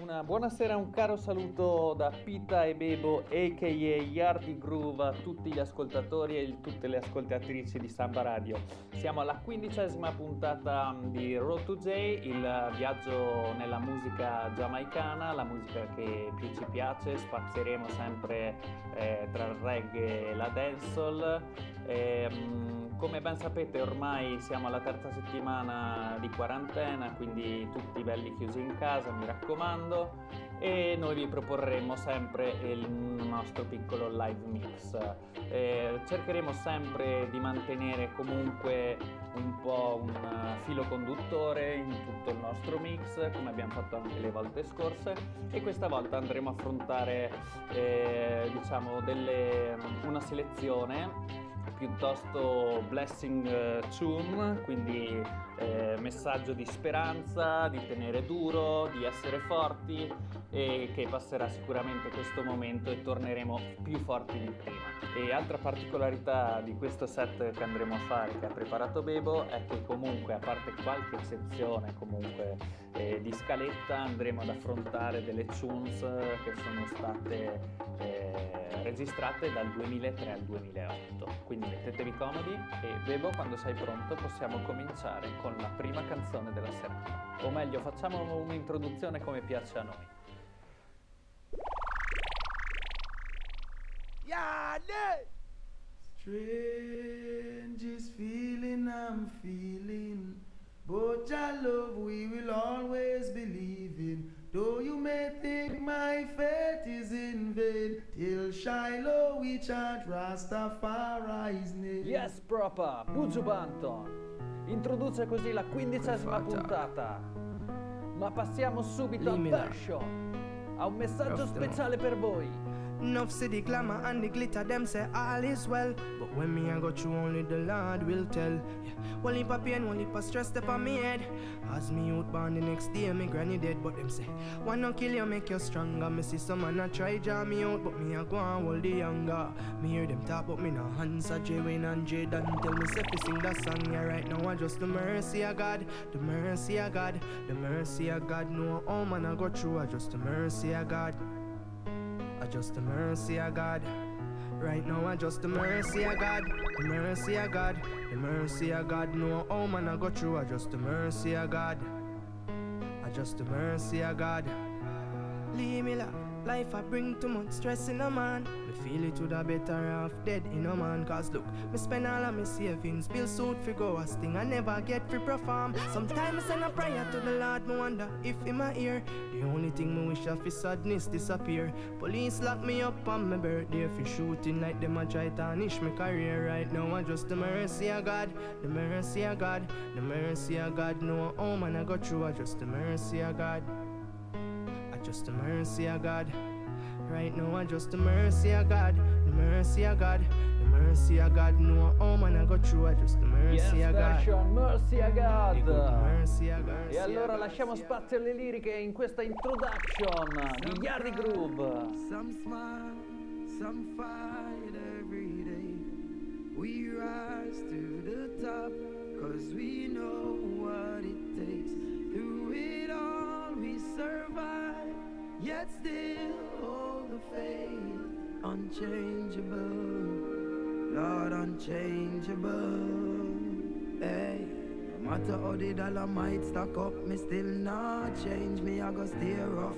Buonasera, un caro saluto da Pita e Bebo a.k.a. Yardi Groove a tutti gli ascoltatori e tutte le ascoltatrici di Samba Radio. Siamo alla 15ª puntata di Road to J, il viaggio nella musica giamaicana, la musica che più ci piace. Spazieremo sempre tra il reggae e la dancehall. Come ben sapete ormai siamo alla terza settimana di quarantena, quindi tutti belli chiusi in casa, mi raccomando, e noi vi proporremo sempre il nostro piccolo live mix. Cercheremo sempre di mantenere comunque un po' un filo conduttore in tutto il nostro mix, come abbiamo fatto anche le volte scorse, e questa volta andremo a affrontare una selezione piuttosto blessing tune, quindi messaggio di speranza, di tenere duro, di essere forti, e che passerà sicuramente questo momento e torneremo più forti di prima. E altra particolarità di questo set che andremo a fare, che ha preparato Bebo, è che comunque, a parte qualche eccezione comunque di scaletta, andremo ad affrontare delle tunes che sono state registrate dal 2003 al 2008. Quindi mettetevi comodi e Bebo, quando sei pronto possiamo cominciare con la prima canzone della serata. O meglio, facciamo un'introduzione come piace a noi. Strangest feeling I'm feeling, but your love we will always believe in. Though you may think my faith is in vain, till Shiloh we chant Rastafari's name. Yes, proper, Buju Banton introduce così la 15ª puntata. Ma passiamo subito a Version, ha un messaggio speciale per voi. Enough see the glamour and the glitter, them say all is well. But when me I go through, only the Lord will tell. Yeah. One heap of pain, one heap of stress step on me head. As me out born the next day, me granny dead. But them say, one no kill you, make you stronger. Me see some man a try draw me out, but me I go and hold the younger. Me hear them talk, but me no answer. J Wayne and J Dan tell me say fi sing that song. Yeah, right now I just the mercy of God, the mercy of God, the mercy of God. No, oh man I go through, I just the mercy of God. I just the mercy of God. Right now I just the mercy of God, the mercy of God, the mercy of God. No, oh man I go through, I just the mercy of God. I just the mercy of God. Leave me life I bring too much stress in a man. Me feel it to the better off dead in a man. Cause look, me spend all of me savings, bill suit fi go a sting, I never get free perform. Sometimes I send a prayer to the Lord, me wonder if in my ear. The only thing me wish of is sadness disappear. Police lock me up on my birthday for shooting like them a try tarnish my career. Right now I just the mercy of God, the mercy of God, the mercy of God. No, oh man I go through, I just the mercy of God. Just the mercy of God. Right now I just the mercy of God, the mercy of God, the mercy of God. No, oh man I go through, I just the mercy of God. Version, mercy of God. Mercy of God. E allora lasciamo spazio alle liriche in questa introduction di Yardi Groove. Some smile, some fight every day. We rise to the top, cause we know what it takes. Through it all we survive, yet still hold the faith. Unchangeable, Lord, unchangeable. Hey, no matter how the dollar might stack up, me still not change. Me I go stay rough.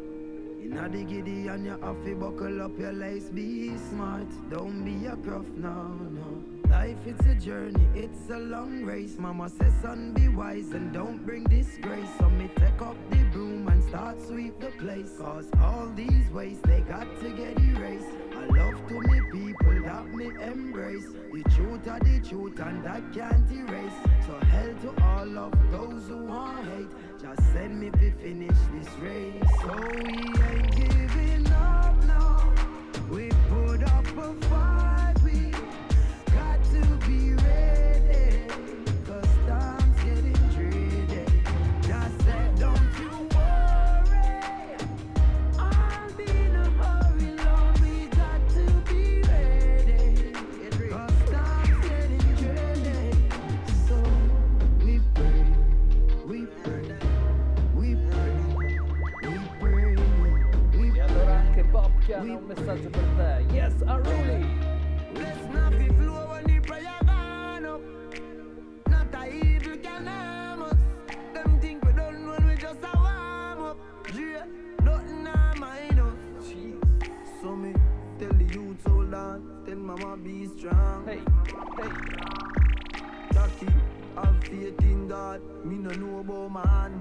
Inna the giddy and you have to buckle up your lace. Be smart, don't be a gruff, no, no. Life it's a journey, it's a long race. Mama says son be wise and don't bring disgrace. So me take up the broom and start sweep the place. Cause all these ways they got to get erased. I love to me people that me embrace. The truth are the truth and that can't erase. So hell to all of those who want hate. Just send me to finish this race. So we ain't giving up now. We put up a fight. We got to be ready, cause time's getting dreary. Just said don't you worry, I'll be in a hurry, Lord. We got to be ready, cause time's getting dreary. So we pray, we pray, we pray, we pray. Popchian ha un messaggio per te. Yes, Unruly! Let's not be flow when the prayer gone up. Not a evil can harm us. Them think we done when we just a warm up. Yeah, nothing harm mind us. So me tell the youth hold on, tell mama be strong. Hey, hey. Lucky, have faith in God. Me no know about man.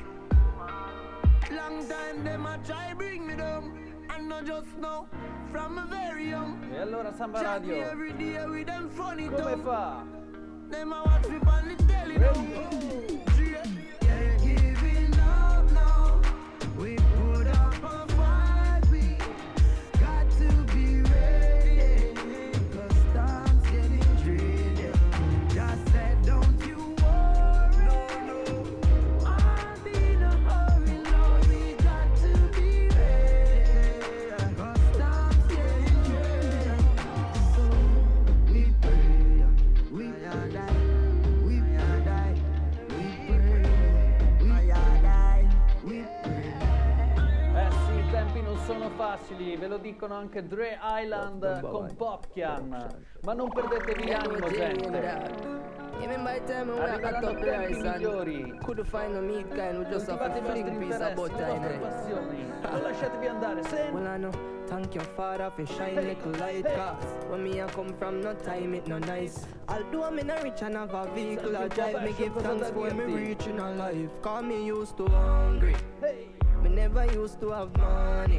Long time them a try bring me down. And not just now, from a very young. E allora Samba Radio, Every day with them funny come fa? Them a watch me on the telly now. Can't give it up now. We put up a fight. We got to be ready. 'Cause time's getting dreary. Just said don't you worry. No. I'll be in a hurry, Lord. We got to be ready. 'Cause time's getting dreary. So we pray. We are die. We are die. We pray. We are die. We pray. Sì, i tempi non sono facili, ve lo dicono anche Dre Island con Popchian. Ma non perdetevi l'animo, gente. Even by the time we got Arriveranno up tempi there, migliori. son, could find a meat kind, we just have Coltivate to i fling vostri piece of interessi, butter le in vostre it. passioni. Non lasciatevi andare, Well, I know, thank your father for shine little light, cause when me I come from, no time it no nice. Although I'm in a rich and have a vehicle, I drive, me give thanks for me reaching a life. Cause me used to hungry, me never used to have money.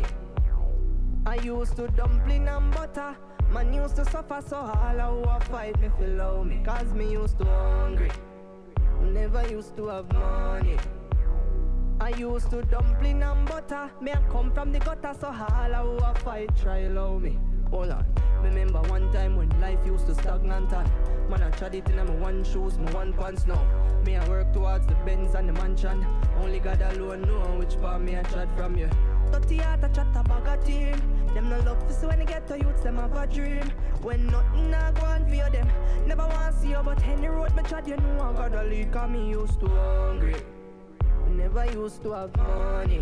I used to dumpling and butter. Man used to suffer so all who a fight me feel love me. Cause me used to hungry, never used to have money. I used to dumpling and butter. Me I come from the gutter, so all who a fight try love me. Hold on, remember one time when life used to stagnant and man I tried it in my one shoes, my one pants now. Me I work towards the Benz and the mansion. Only God alone know which part me I tried from you. 30 heart I chat a bag of team. Them no love for so when they get to youths, them have a dream. When nothing I go on for them, never want to see you, but any road me chat, you know I got a leak. Cause me used to hungry, never used to have money.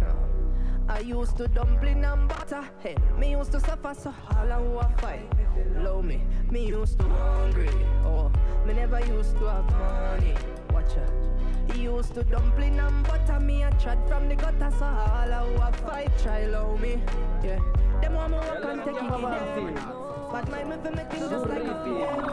I used to dumpling and butter. Hey, me used to suffer so all I who a fight. Love me, me used to hungry. Oh, me never used to have money. Watch out. He used to dumpling and butter. Me a trod from the gutter, so all I who a fight try love me. Yeah, them want me work and take it in. But my me for me thing just like a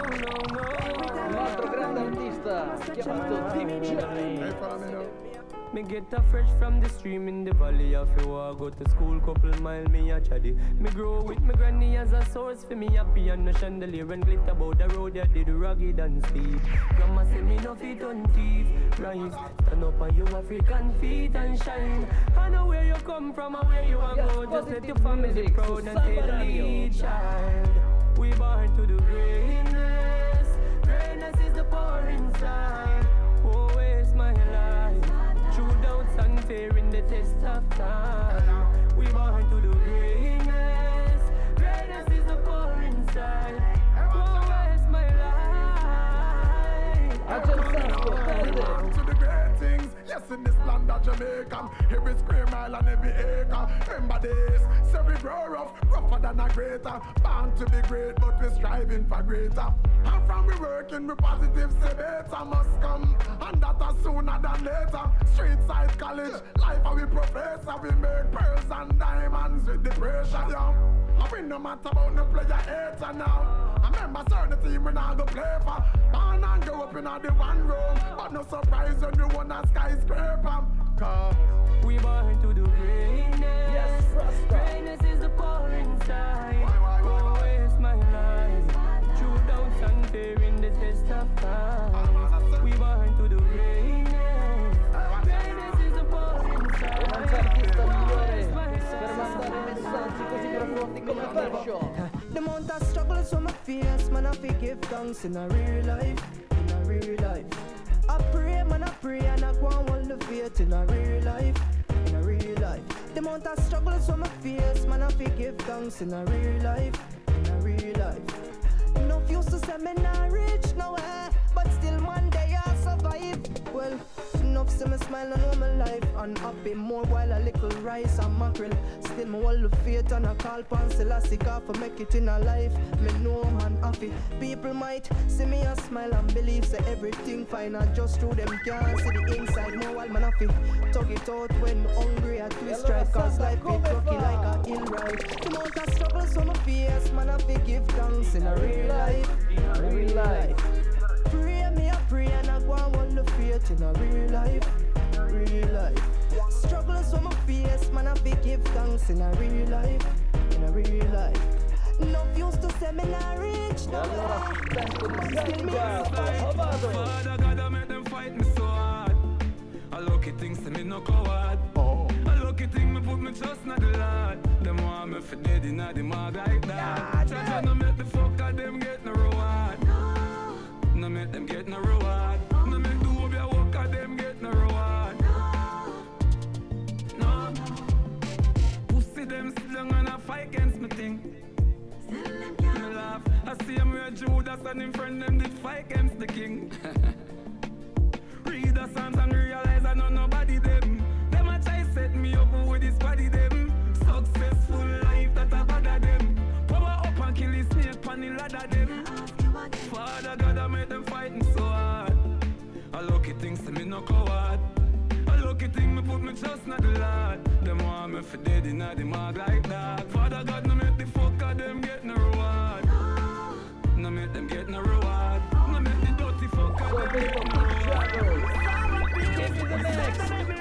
Un altro grande artista chiamato Deep J. Me get a fresh from the stream in the valley. I feel I go to school, couple mile me a chatty. Me grow with me granny as a source for me happy and no chandelier and glitter about the road that did rugged and steep. Grandma say me no fit on thief. Rise, stand up on your African feet and shine. I know where you come from and where you are go. Just let your family proud and take the lead, child. We born to do greatness. Greatness is the power inside. Won't waste my life. True doubts and fear in the test of time. We born to do greatness. Greatness is the power inside. Won't waste my life. I just to the great things. Yes, in this land of Jamaica, every square mile and every acre. Remember this, so we grow rough, rougher than a greater. Bound to be great, but we're striving for greater. And from we working, we positive, say better must come. And that is sooner than later. Street side college, life how we professor. We make pearls and diamonds with the pressure, yo. And we no matter about no player hater now. I remember certain team we not go play for. Born and grow up in the one room, but no surprise when we won a skyscraper. Cause we born to do greatness. Yes, Rasta. Greatness is the power inside. Won't waste my life. True doubts and fear in the test of time. We born to do greatness. Greatness is the power inside. Non c'è artista migliore per mandare messaggi così profondi come Version. The amount of struggles from my face, man, I forgive thanks in a real life, in a real life. I pray, man, I pray, and I go and hold the faith in a real life, in a real life. The amount of struggles from my face, man, I forgive thanks in a real life, in a real life. Enough used to say me not rich nowhere, but still one day I survive. Well, enough see me smile and know my life unhappy. More while a little rice and mackerel. Still me hold the faith and I call pan Selassie for make it in a life. Me know man happy. People might see me and smile and believe say everything fine. And just through them can't see the inside. More while man happy. Tug it out when hungry I twist right. Cause life is rocky like a hill ride. The amount of struggles on my face, man happy give thanks in a real life. In a real life. Pray me a pray and I go and hold the faith in a real life. Real life. Struggles on my face, man happy give thanks in a real life. In a real life. No used to say me not rich, no. Father God, I make them fight me so hard. I lucky things to me no coward. A lucky thing me put me trust in the Lord. Them want me for dead in the mag like that. Try to make the fuck of them get no reward. No make them get no reward. No make the whole be work of them get no reward. No. Pussy them slung and a fight against me thing. Me laugh. I see him with Judas and him friend them did fight against the king. Read the Psalms and realize I know nobody them. Them a try set me up with this body them. Successful life that I bother them. Power up and kill the snake pan the ladder them. Father God I made them fighting so hard. A lucky things to me no coward. A lucky thing me put me trust in the Lord. Them want me for dead in the mag like that. Father God no make the fuck of them get no reward. No make them get no reward. No make the dirty fuck of them get no reward. Give me the next.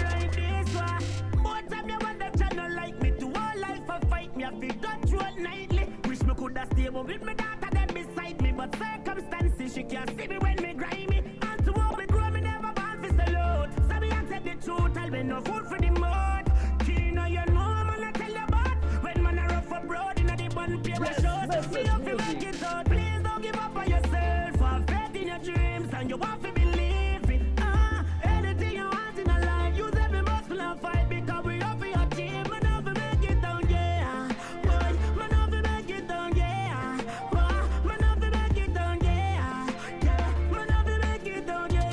Both of them want them channel like me. To all life I fight me, I feel got through it nightly. Wish me coulda stay with me daughter them beside me. But circumstances, she can't see me when me grimy. And to walk me grow, me never born for salute. So me accept the truth, I'll be no food for the mud. Kino, you know, man, I tell you about. When man a rough abroad, in the one paper shows. Me up to make it out. Please don't give up on yourself. Have faith in your dreams, and you want to believe it. Anything you want in a life, use every muscle and fight. Because we up for your team, man, have to make it down, yeah. Boy, man, have to make it down, yeah. Boy, man, have to make it down, yeah. Yeah, man, have to make it down, yeah.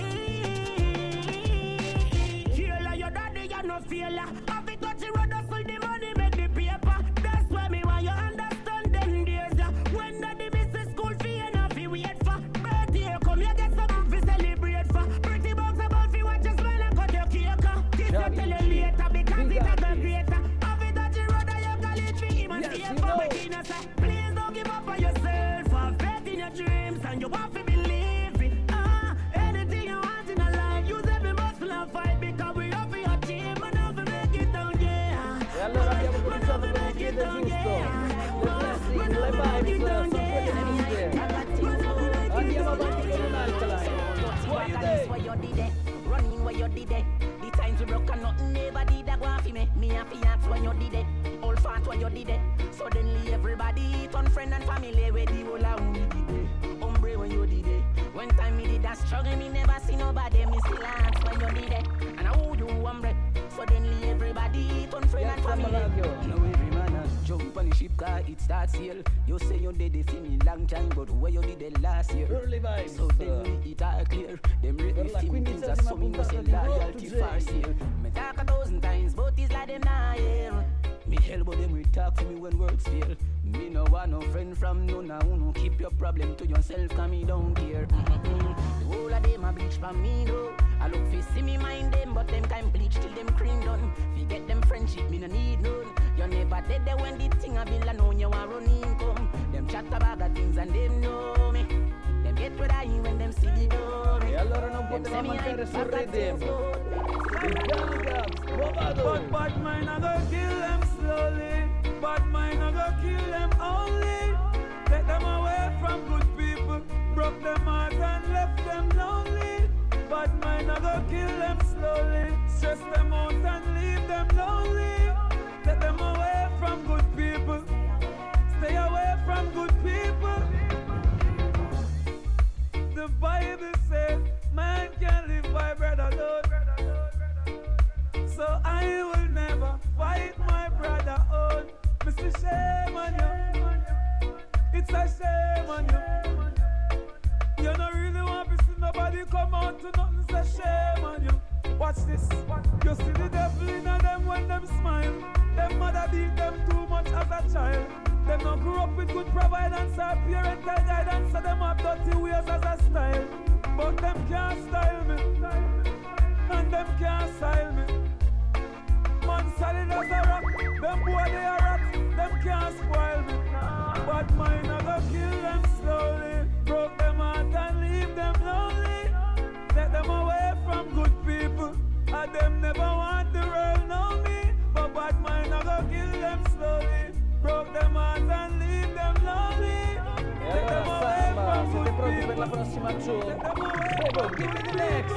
Killer, your daddy, you're no failure. Have it touch the road, hustle the money, make the paper. That's why me want you understand them days, yeah. When daddy miss the school fee and have to wait for birthday, come here, get something to celebrate for. Pretty bucks about fi watch your smile and cut your cake. Kiss you till you later because it a go greater. Have it touch the road and you college fee him and safer. Making us say, please don't give up on yourself. Have faith in your dreams and you want to believe it. Anything you want in a life, use every muscle and fight because we up for your team and have to make it down, yeah. E allora abbiamo cominciato con il piede giusto. Le blessing, le vibes sono quelle giuste. Andiamo avanti con un'altra line. What you day? Running where you did it. The times we broke and nothing never did that go for me. Me and fiance when you did it. All fat when you did it. Suddenly everybody turn friend and family where the whole of we did it. Hombre when you did it. When time me did that struggle, me never see nobody. Me still ask when you did it. And how you hombre. Suddenly everybody turn friend and family. Now every man has jump on the ship car, it starts here. You say you did it for me long time, but where you did it last year? Early vibes. So then it all clear. Them rate me for me things that so me no say loyalty far here. Me talk 1,000 times, but it's like them not here. Me hell but them we talk for me when words fail. Me no want no friend from none of who no keep your problem to yourself, cause me don't care. The whole of them a bleach from me though. I look fi see me mind them, but them time bleach till them cream done. Forget them friendship, me no need none. You never dead there when the thing a bill and know you want run income. Them chat about the things and them know me. Them get what I when them see the door. E allora non poteva mancare sul Redeem. Il Gangams, Bovado. But bad mind I go kill them slowly. Bad mind I go kill them only. Take them away from good people. Broke them heart and left them lonely. Bad mind I go kill them slowly. Stress them out and leave them lonely. Take them away from good people. Stay away from good people. The Bible says man can't live by bread alone. So I will never fight my brother on. Mr. Shame on you. It's a shame on you. You don't really want to see nobody come out to nothing. It's a shame on you. Watch this. You see the devil in them when them smile. Them mother beat them too much as a child. Them not grew up with good providence or parental guidance, so them have dirty ways as a style. But them can't style me, and them can't style me. Man solid as a rock, them boy they are rot, them can't spoil me. But mine I go kill them slowly, broke them heart and leave them lonely. Take them away from good people, and them never want the world know me. But bad mine I go kill them slowly, broke them heart and leave them lonely. E allora Samba, siete pronti per la prossima tune? Prego, give me the next.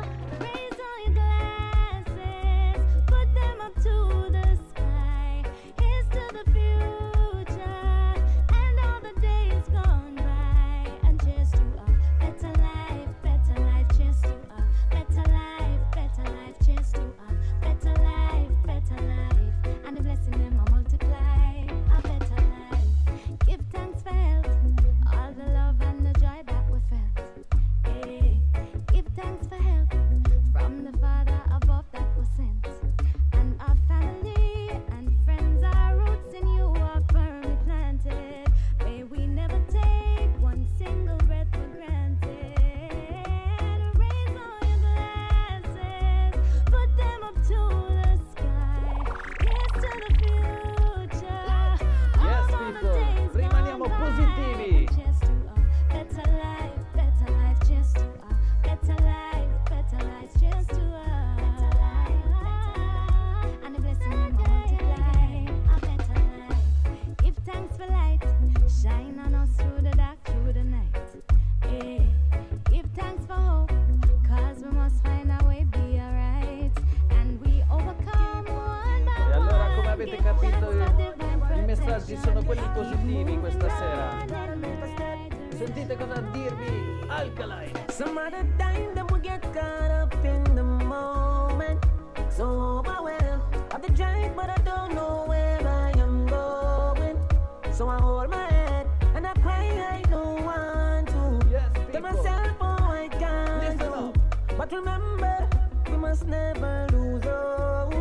Sono quelli positivi questa sera. Sentite cosa dirvi Alkaline. Some other time them we get caught up in the moment, so overwhelmed of the drive, but I don't know where I am going. So I hold my head and I cry like no one to. Yes, tell myself, oh I can't do. But remember, we must never lose hope.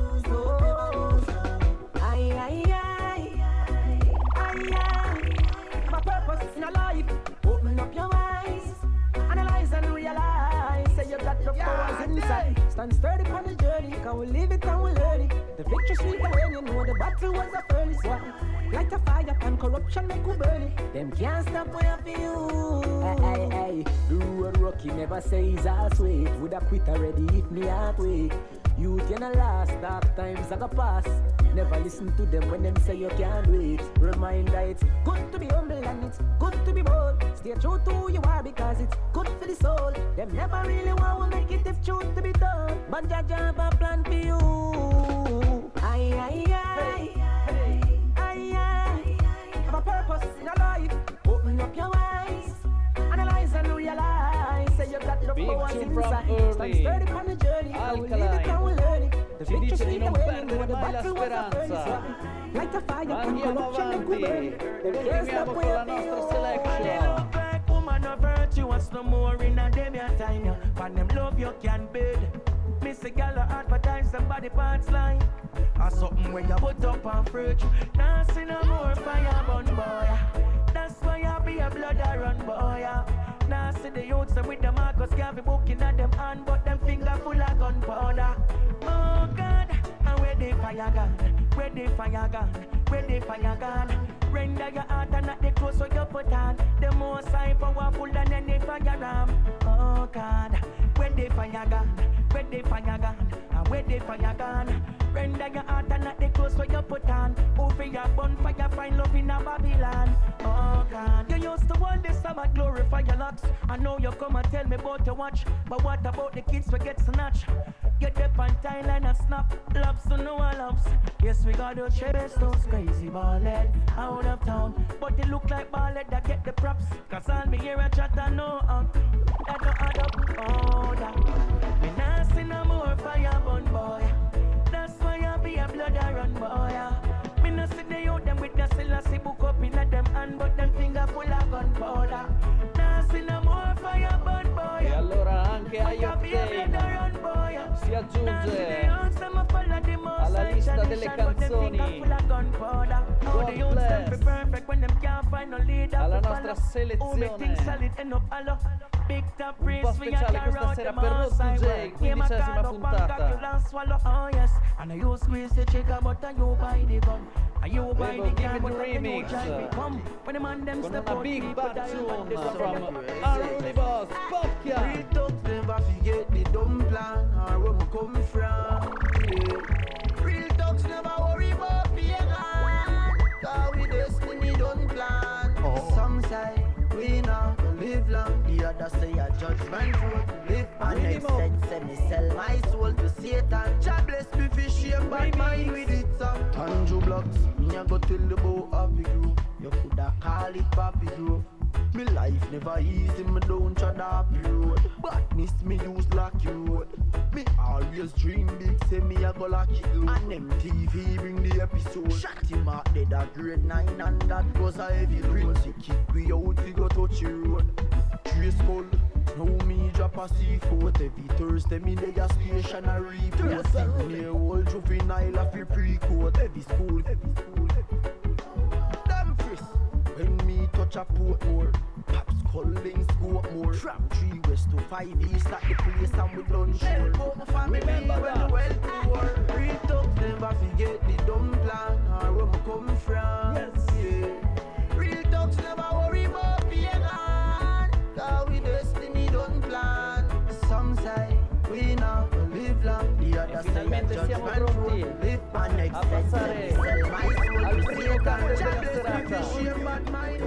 In a life, open up your eyes, analyze and realize. Say you got the powers inside. Stand sturdy on the journey, can we live it and we learn it. The victory sweet when you know the battle was a furnace one. Light a fire and corruption make we burn it. Them can't stop where for you. Hey, hey, hey, the road rocky never says I'll sweet. Would I quit already if me heart weak? Youth in the last dark times I go pass. Never listen to them when them say you can't wait. Reminder it's good to be humble and it's good to be bold. Stay true to who you are because it's good for the soul. Them never really want to make it if truth to be told. But Jah have a plan for you. Aye, aye, aye, aye, aye, aye. Have a purpose in your life. Open up your eyes, analyze and realize. Say you got the powers inside. Stand sturdy on the journey. Alkaline. Ci dice di non perdere mai la speranza. Andiamo avanti, continuiamo con la nostra selection. Woman of virtue, what's no more in a dem your time? For them love you can bid. Miss a gal advertise somebody parts line. Or something where you put up on fruit. Now see no more fire burn boy. That's why I be a blood I run boy. Now see the youths with the Marcus Garvey booking at them hand, but them finger full of gunpowder. Oh God, and where the fire gun? Where the fire gun? Where the fire gun? Render your heart and not the clothes so you put on. The more side powerful than any fire ram. Oh God, where the fire gun? Where the fire gun? And where the fire gun? Render your heart and not the clothes so you put on. Over your bonfire, find love in a Babylon. Oh God, you used to hold this Sabbath glorify your locks. I know you come and tell me about your watch, but what about the kids we get snatched? Get up on Thailand and snap, loves to no one loves. Yes, we got to chase those crazy ballhead out of town, but they look like ballhead that get the props. Cause all me hear a chat and no that don't add up. Oh, that me not see no more fire burn boy. That's why I be a blood I run boy. Me not see the youth them with the Selassie book up in at them hand, but them finger full of gunpowder. Not see no more fire burn boy. E allora anche Eye Octane aggiunge alla lista delle canzoni alla nostra selezione un po' speciale questa sera per Road to J, 15ª puntata. Give it the remix con una big bad tune from Army Boss, Popkia. Real thugs never forget the dumb plan or where we come from. Yeah. Real thugs never worry about being on, cause we destiny don't plan. Some say we not gonna live long, the others say a judgment road to live. And next say me sell my soul to Satan. God bless me for shame, bad mind with it some. Tanjo blocks, me a go tell the boy Happy Grove. You coulda call it Papi Grove. Me life never easy, me don't tread happy road. Badness me use lucky road. Me always dream big, say me a go lucky low. And MTV bring the episode. Shot him out dead at grade 9 and that was a heavy load. He kick we out, we go touch the road. Trace skull, now me drop a C4. Every Thursday me lay a stationary report. Near old juvenile a free pre-court. Every school. Damn frisk. When me touch a Portmore, Pops calling scope more. From 3 west to 5 east at the place and we done sure. But my family when well poor. Real thugs never forget the dumb plan or where we come from. Yes, yeah. Real thugs never worry about being on, cause we destiny don't plan. Some say we not gonna live long, the other say judgment road to live. And next say sell my soul to Satan. God bless me for shame, bad mind.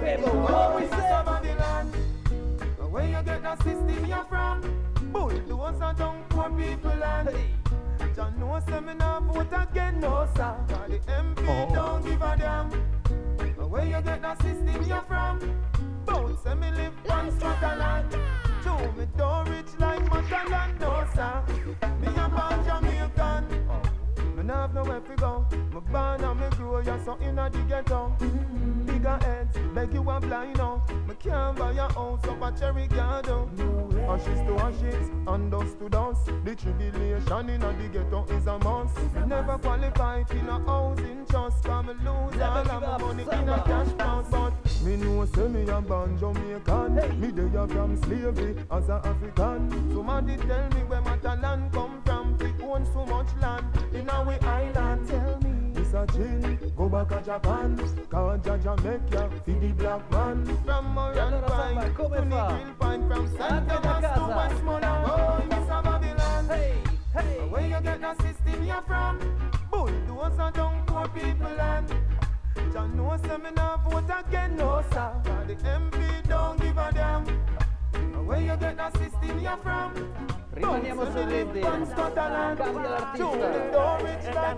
Where you get that system you're from? Bulldozer are down poor people land. John knows say me not vote again, no sir. Cause the MP don't give a damn. Where you get that system you're from? Both say me live on Scotland. Joe me don't rich like Matalan, no sir. Me a born Jamaican. Me not have nowhere to go. Me born and me grow, you're so inna the ghetto. Bigger heads, beg you a blind now. Me can't buy a house up a Cherry Garden. Ashes to ashes, and dust to dust. The tribulation inna the ghetto is a must. Me never qualify for no housing trust. Cause me lose all of my money in a cash box. But me know say me a born Jamaican. Me dey from slavery as a African. Somebody tell me where Matalan come from. We own so much land in our island. Tell me this a chill, go back to Japan. Cause Jamaica feed the black man. From Moran Pine to Nickel Pine. From St. Thomas to Westmoreland. Oh, Miss Babylon. Hey, where you get that system you're from? Bulldozer down poor people land. John knows say me not vote again, no sir. Cause the MP don't give a damn. Where you get that system you're from? Rimaniamo su Reddit. Cambia l'artista.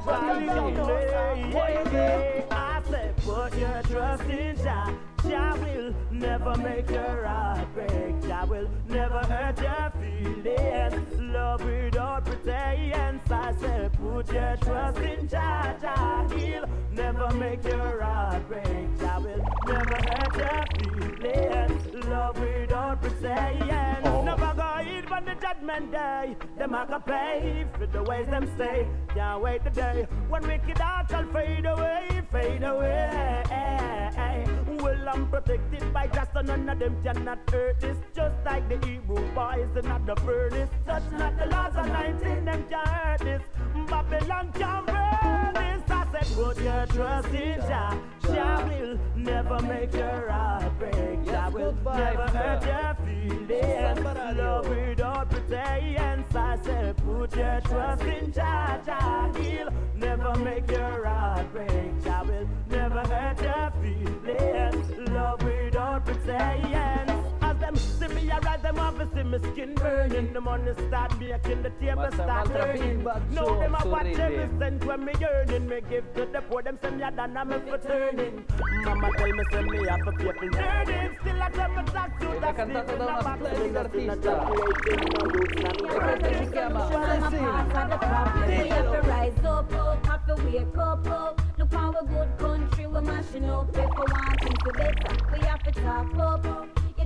I said put your trust in Jah. Jah will never make your heart break. Jah will never hurt your feelings. Love without pretense. I said put your trust in Jah. Jah he'll never make your heart break. Jah will never hurt your feelings. Love without pretense. Never go eat on the judgment day. Them a go pay for the ways them stay. Can't wait the day when wicked hearts shall fade away, fade away. Well, I'm protected by just none of them cannot hurt this. Just like the Hebrew boys in the furnace. Touch not the laws of 19, them can't hurt this. Babylon can't burn this. I said put your trust in Jah. Jah will never make your heart break. Jah will never hurt your feelings. Love without pretense. I said put your trust in Jah. Jah he'll never make your heart break. Jah will never hurt your feelings. Love without pretense. As them see me arise, them have to see me skin burning. The money start making, the table start turning. Now them a watch every cent when me earning. Me give to the poor, them send me a done and me for turning. Mama tell me send me have to pay for learning. Still I tell me tax to the cantata da una splendida artista. E questa si chiama We have to rise up, have to wake up. Look how a good country we're mashing up. If we want things to better, we have to talk up. You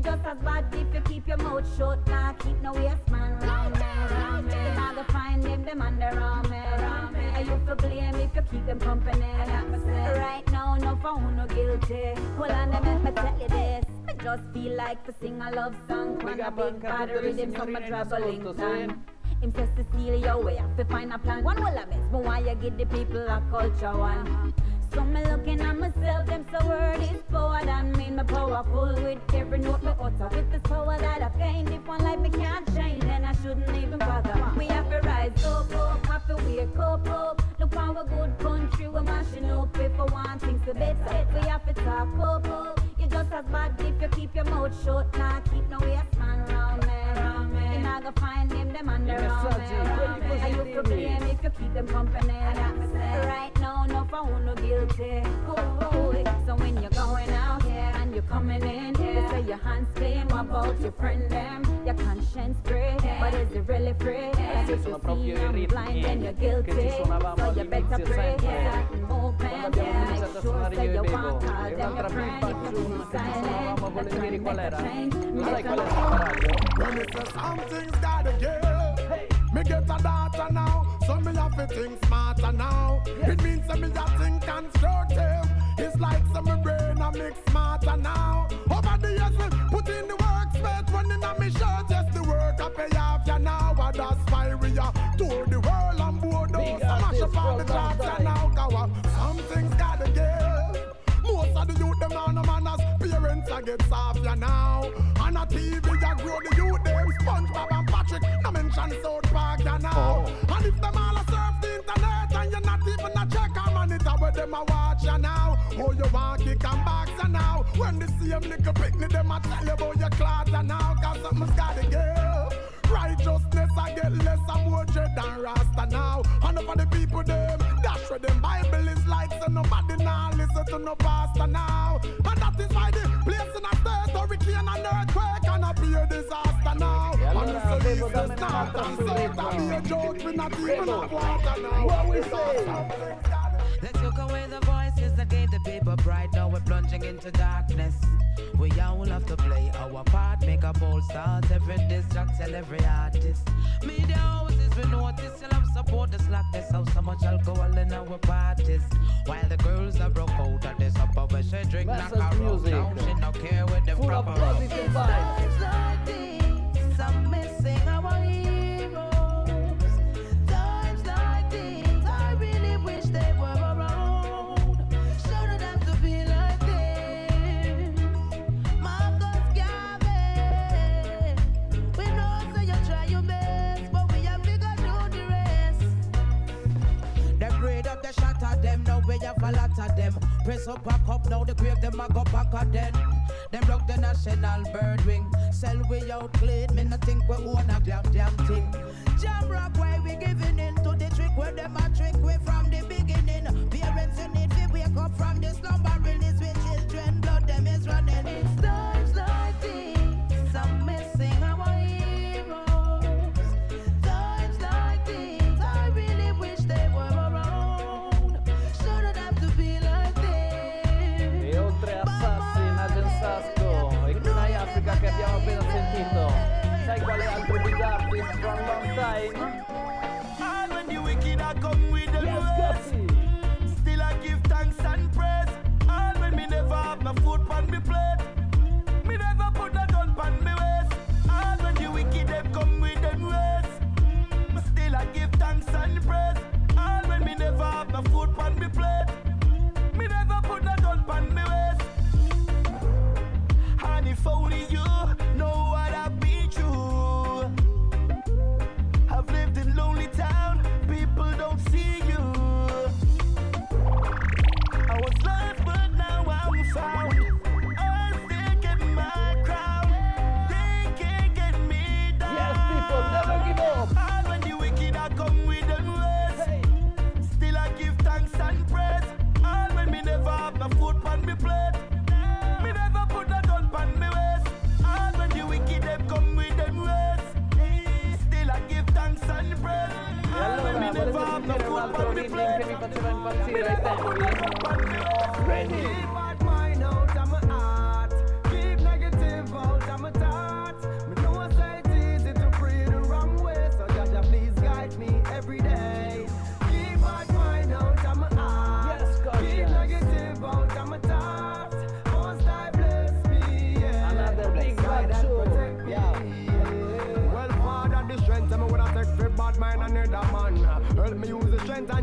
just as bad if you keep your mouth shut. Nah, keep no waste man round me. You not gonna find them under around me. And you feel blame if you keep them company. Right now, no for who no guilty. Hold on, let me tell you this. I just feel like to sing a love song. When a big bad rhythm from my traveling time. Him says Cecilia, we have to find a plan. One will I miss, but why you give the people a culture one? So me looking at myself, them so word is power than me. Me powerful with every note me utter. With this power that I've gained, if one life me can't change, then I shouldn't even bother. We have to rise up, have to wake up. Look how a good country we're mashing up. If we want things to better, we have to talk up. You just as bad if you keep your mouth shut. Nah, keep no waste man round me. You're not gonna find them under around me. And you feel blame if you keep them company. Right now, no for who no guilty. So when you're going out and you're coming in, you say your hands clean. What about your friend them? Your conscience free, but is it really free? If you see I'm blind, then you're guilty. So you better pray. Movement, make sure that you want all them your friend. If you be silent, the trend make a change. When it says something's gotta give, me get a data now, so me have to think smarter now. It means that me a think constructive. It's like some brain I make smarter now. Over the years we put in the work, spent running on me shirt. Yes, the work I pay off ya now, and that's why we are tour the world and board those. Smash up all the charts ya now, cause something's gotta give. Most of the youth them now no manners, parents I get soft ya now. On a TV ya grow the youth them, SpongeBob and Patrick, no mention South Park ya now. And if them all a surf the internet and you're not even a check a monitor where them a watch ya now. Oh you want kick and box ya now. When the same little picnic them a tell you about your clout ya now. Cause something's gotta give. Righteousness I get less and more dread than Rasta now. And over the people them, that's where them Bible is like. So nobody now listen to no pastor now. And that is why the place in a state hurricane and earthquake and a beer disaster now. And the solution start and say that be a joke, we not even have water now. What we say? They took away the voices that gave the people pride. Now we're plunging into darkness. We all have to play our part, make a bold start. Every diss track, tell every artist. Media houses, we notice you'll have support the slackness. How so much alcohol in our parties. While the girls are broke out of this upper where she drink like a road. Now she no care with the proper road. It's times like these, I'm missing our heroes. Times like these, I really wish they were around. Shouldn't have to be like this. Marcus Garvey, we know so you try your best, but we have figured out the rest. The grade up, the shot at them, now we have a lot of them. Press up, back up, now the grave them a go back again. Them broke the national bird wing. Sell we out clean, me no think we own a damn thing. Jam rock, why we giving in to the trick where them a trick we from the beginning. Parents you need to wake up from the slumber, release with children, blood them is running. It's times like these, I'm missing our heroes. Times like these, I really wish they were around. Shouldn't have to be like this. E oltre a Sassi, Nagen Sasco e Kunai Africa che abbiamo appena sentito, sai quale altro big artist from long time? And when the wicked are come with the worst, still I give thanks and praise. And when me never have my food on me plate, me never put a gun on me waist. And when the wicked them come with them worst, still I give thanks and praise. And when me never have my food on me plate, me never put a gun on me waist. And if only you know what I've been through. I've lived in lonely town, people don't see you. I was lost but now I'm found. I still get my crown. They can't get me down. Yes, people, never give up. And when the wicked are come with them words, still I give thanks and praise. And when me never have my food on me plate, me never put a gun on me waist. And when the wicked them come with them words, still I give thanks and praise. E allora, volete sentire un altro rhythm che mi faceva impazzire ai tempi? Ready? Keep bad mind out of my heart. Keep negative out of my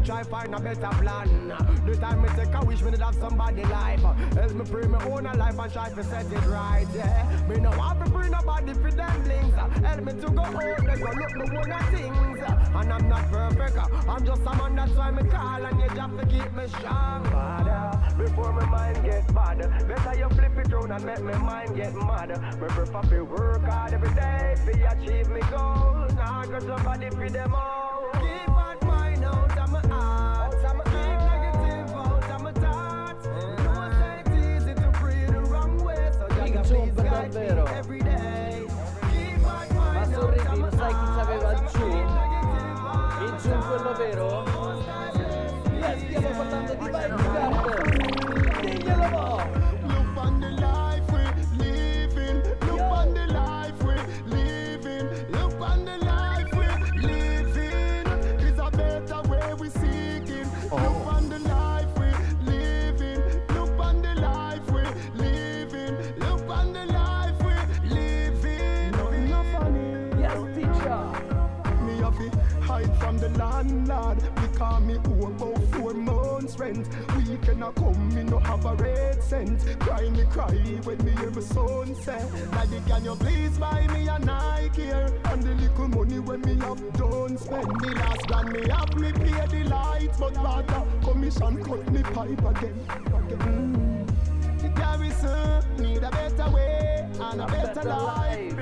try find a better plan. The time me take a wish, me did have somebody life. Help me pray me own a life and try to set it right, yeah. Me no want to bring nobody for them links. Help me to go out, they go look me one of things. And I'm not perfect, I'm just a man, that's why me call. And you just to keep me strong, Father. Before my mind get bad, better you flip it round and make my mind get mad. Me prefer to work hard every day to achieve me goals. Now got somebody for them all. Keep bad mind out of my heart. Keep negative out of my thoughts. No say it's easy to breathe the wrong way, so just please guide me every day. Keep bad mind out of my heart. Sai chi c'aveva il giù? Il giù quello vero? Stiamo parlando di Vibe. Diglielo mo'! Look on the life we living. Look on the life we living. Look on the life we living. It's a better way we seeking. Look on the life we living. Look on the life we living. Look on the life we living. No funny. Yes, teacher. Me have to hide from the landlord. Because me owe about 4 months rent. Weekend a come, me no have a red cent. Cry when me hear my son say, Daddy, can you please buy me a Nike here? And the little money when me have done spend. The last grand me have me pay the lights, but rather commission cut me pipe again. The garrison need a better way and a better life.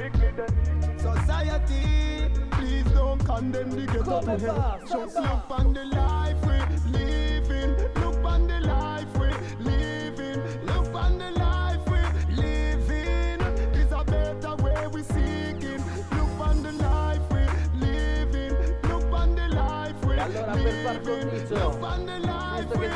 Society, please don't condemn the ghetto to hell. Just look on the life we living. Look on the life we living. Look on the life we living. It's a better way we seeking. Look on the life we living. Look on the life we living. Look on the life we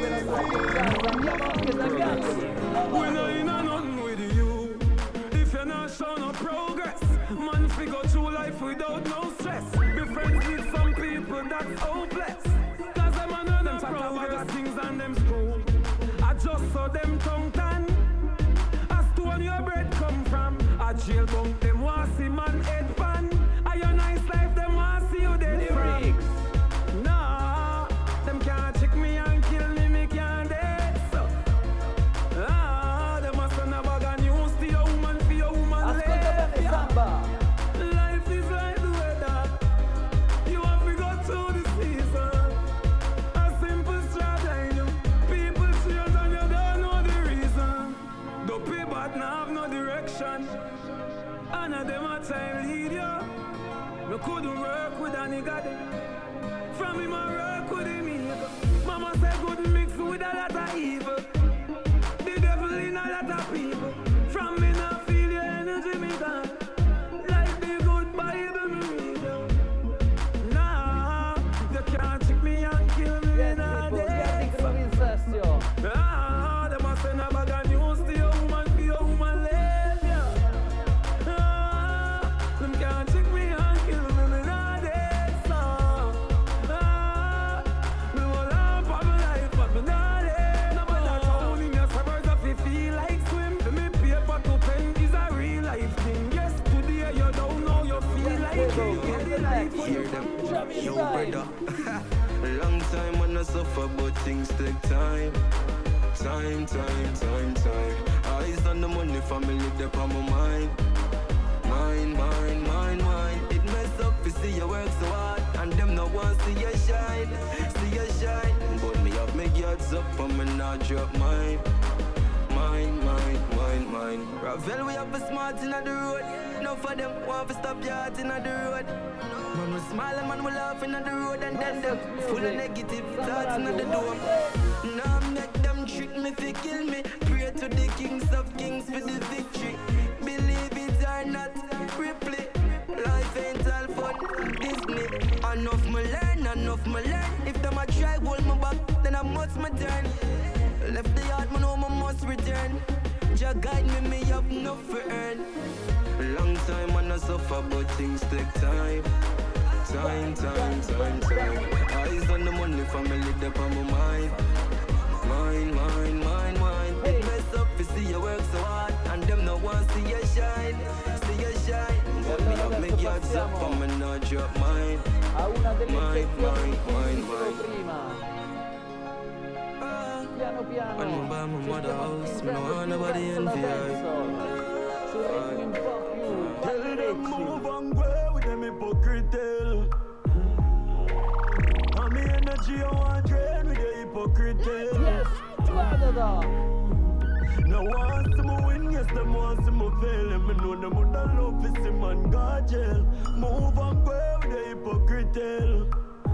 living. When I ain't nothing with you, if you're not showing no progress, man figure through life without no stress. Be friends with some people that's hopeless. Cause them and them progress things and them school. I just saw them tongue tan. As to when your bread come from, a jail bunk them want see man head pan. A your nice life them want see you dead freaks. Nah, them can't trick me and kill me, me can't dead so. Them must send a bag of news to your woman for your woman life. Life is like the weather. You have to go through the season. A simple strategy. People change and you don't know the reason. The people now have no direction. And of them a time lead you. No couldn't work with a nigga there. From him I work with him evil. Mama said good mix with a lot of evil. The devil in a lot of people. From me now feel your energy me gone. Like the good Bible me read you. Nah, you can't trick me and kill me in a day. Nah, them a send a bag of news to your woman for your woman live ya. Nah, them can't trick me and kill me in a day. So, nah, me will laugh at my life but me not dead. No matter how in your suburbs if you feel like swim. Me paper to pen is a real life thing. Yes, today you don't know you feel like it. Get the life when you come. Yo, brother. Long time when I suffer, but things take time. Time. Eyes on the money, family, they're on my mind. Mine. It mess up to see you work so hard, and them no want see you shine. But me have my guards up, and me not drop mine. Ravel, we have a smart in the road. No for them want to stop your heart in the road. Man will smile and man will laugh in the road, and then them full of negative thoughts in the dome. Now make them trick me to kill me. Pray to the kings of kings for the victory. Believe it or not, Ripley. Life ain't all fun, Disney. Enough me learn. If them a try hold me back, then I must my turn. Left the yard, man, know I must return. Just guide me have enough for earn. Long time and I suffer, but things take time. Eyes on the money, family, they're on my mind. It mess up to see you work so hard, and them no want see you shine. But me have my guards up, and me not drop mine. a una delle eccezioni di prima. Piano piano ci stiamo attingendo più verso la dancehall, su ritmi un po' più pagliarecci. Me energy I want drain with your hypocrite. Yes, da. Now want some win, yes, them want some fail. And me know them would love to see man go jail. Move and go with the hypocrite.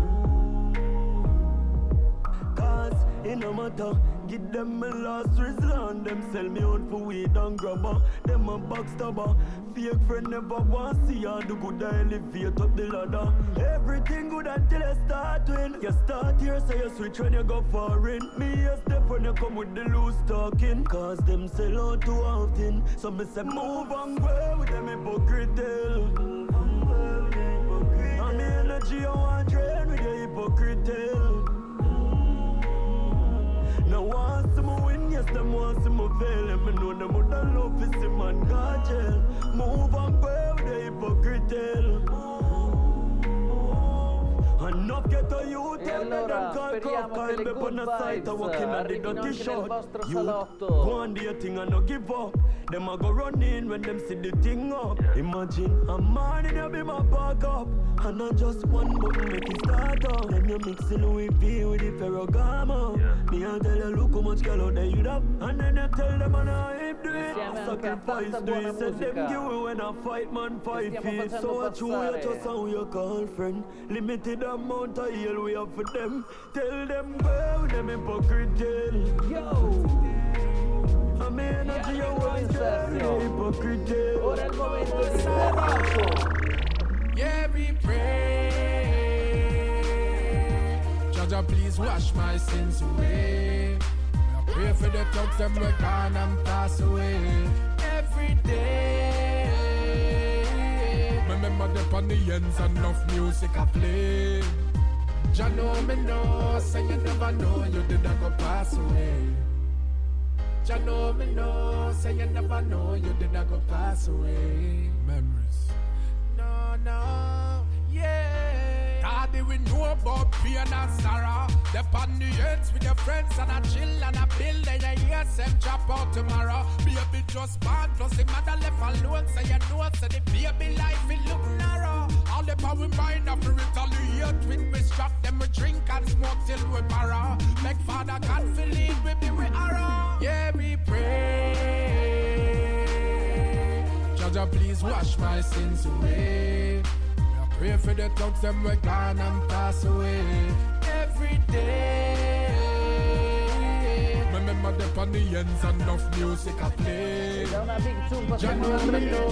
Cause it no matter, give them my last resort. Them sell me out for weed and grabber. Them a backstabber. Fake friend never want see you do good, I elevate up the ladder. Everything good until I start win. You start here, so you switch when you go foreign. Me a step when you come with the loose talking. Cause them sell out too often. So me say move and go with them hypocrite. And me energy I want drain with the hypocrite. Now want some win, yes, them want some fail. And me know them would love to see man go jail. Move and go with the hypocrite. Enough get a youth and them call crocodile. Be on the site of walking at the dirty shot. Youth, go on the thing and no give up. Them a go run in when them see the thing up. Imagine a man in be my back up. And not just one button make it start up. Then you mix the Louis V with the Ferragamo. Me a tell you look how much girl out there you have. And then you tell them and I do it. Sacrifice do it. Say them give you when I fight man 5 feet. So I chew you just how you call friend. Limited amount of heal we have for them. Tell them well them hypocrite. Yo! A me energy I want hypocrite. Ora è il momento di Ferragamo. Yeah, we pray. Jah, please wash my sins away. I pray for the thugs them we gone and pass away. Every day. Remember the on the ends and enough music I play. Jah know me know, say you never know you didn't go pass away. Jah know me know, say you never know you didn't go pass away. Memories. No, yeah. Daddy, we know about pain and sorrow. They're on the ends with your friends and a chill and a build. And you hear them drop out tomorrow. Baby just born, plus the mother left alone. So you know, so the baby life it look narrow. All the power mind of retaliate when we strap them, we drink and smoke till we borrow. Make Father God feel it, we be with arrow. Yeah, we pray. Jah, please wash my sins away. I pray for the thugs them we gone and pass away. Every day. Remember the on the ends and enough music I play. Da una big tune passiamo al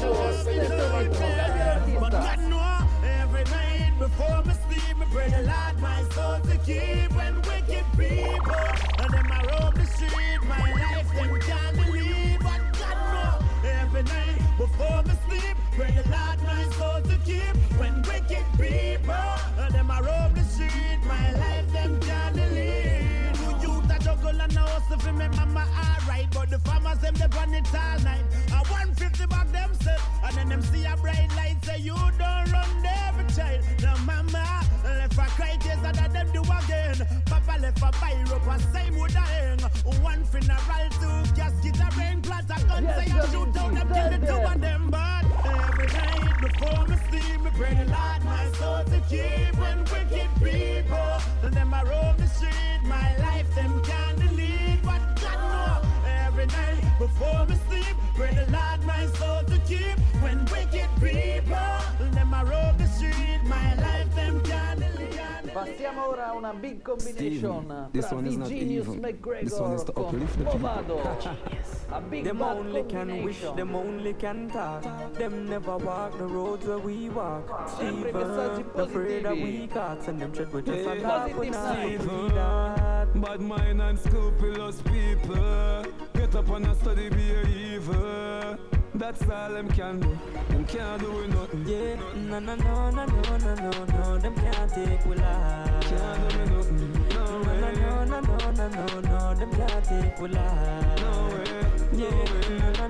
But God know every night before me sleep, me pray the Lord my soul to keep. When wicked people and them I roam the street, my life them can't believe. But God know every night before me sleep, pray the Lord my soul to keep. When wicked people and them I roam the street, my life them can't believe. Who youth a juggle and a hustle for me mama alright, but the farmers them they run it all night. I 150 back themselves, and then them see a bright light say you don't run every child. Now mama left a cry tears that them do again. Papa left a biro and same would hang. One funeral, 2 casket, a rain plant, a gun say I shoot down them kill the 2 of them. But every night before me sleep, me pray the Lord my soul to keep. When wicked people and them a roam the street, my life them can't delete. But God know every night before me sleep, pray the Lord my soul to keep. When wicked people and them a roam the street, my life them can't delete. Passiamo ora a una big combination tra D Genius McGregor con Movado. A big Them bad only can wish, combination. them only can talk. Them never walk the roads where we walk. Sempre Steven, messaggi afraid that positivi. we caught, and them tread with just a Positive laugh with side. that. Bad mind and scrupulous people. Get up and study, be evil. That's all them can do. Them can't do nothing. Yeah, no, them can't take we life. Can't do nothing. No way. No, them can't take we life. No way. Yeah,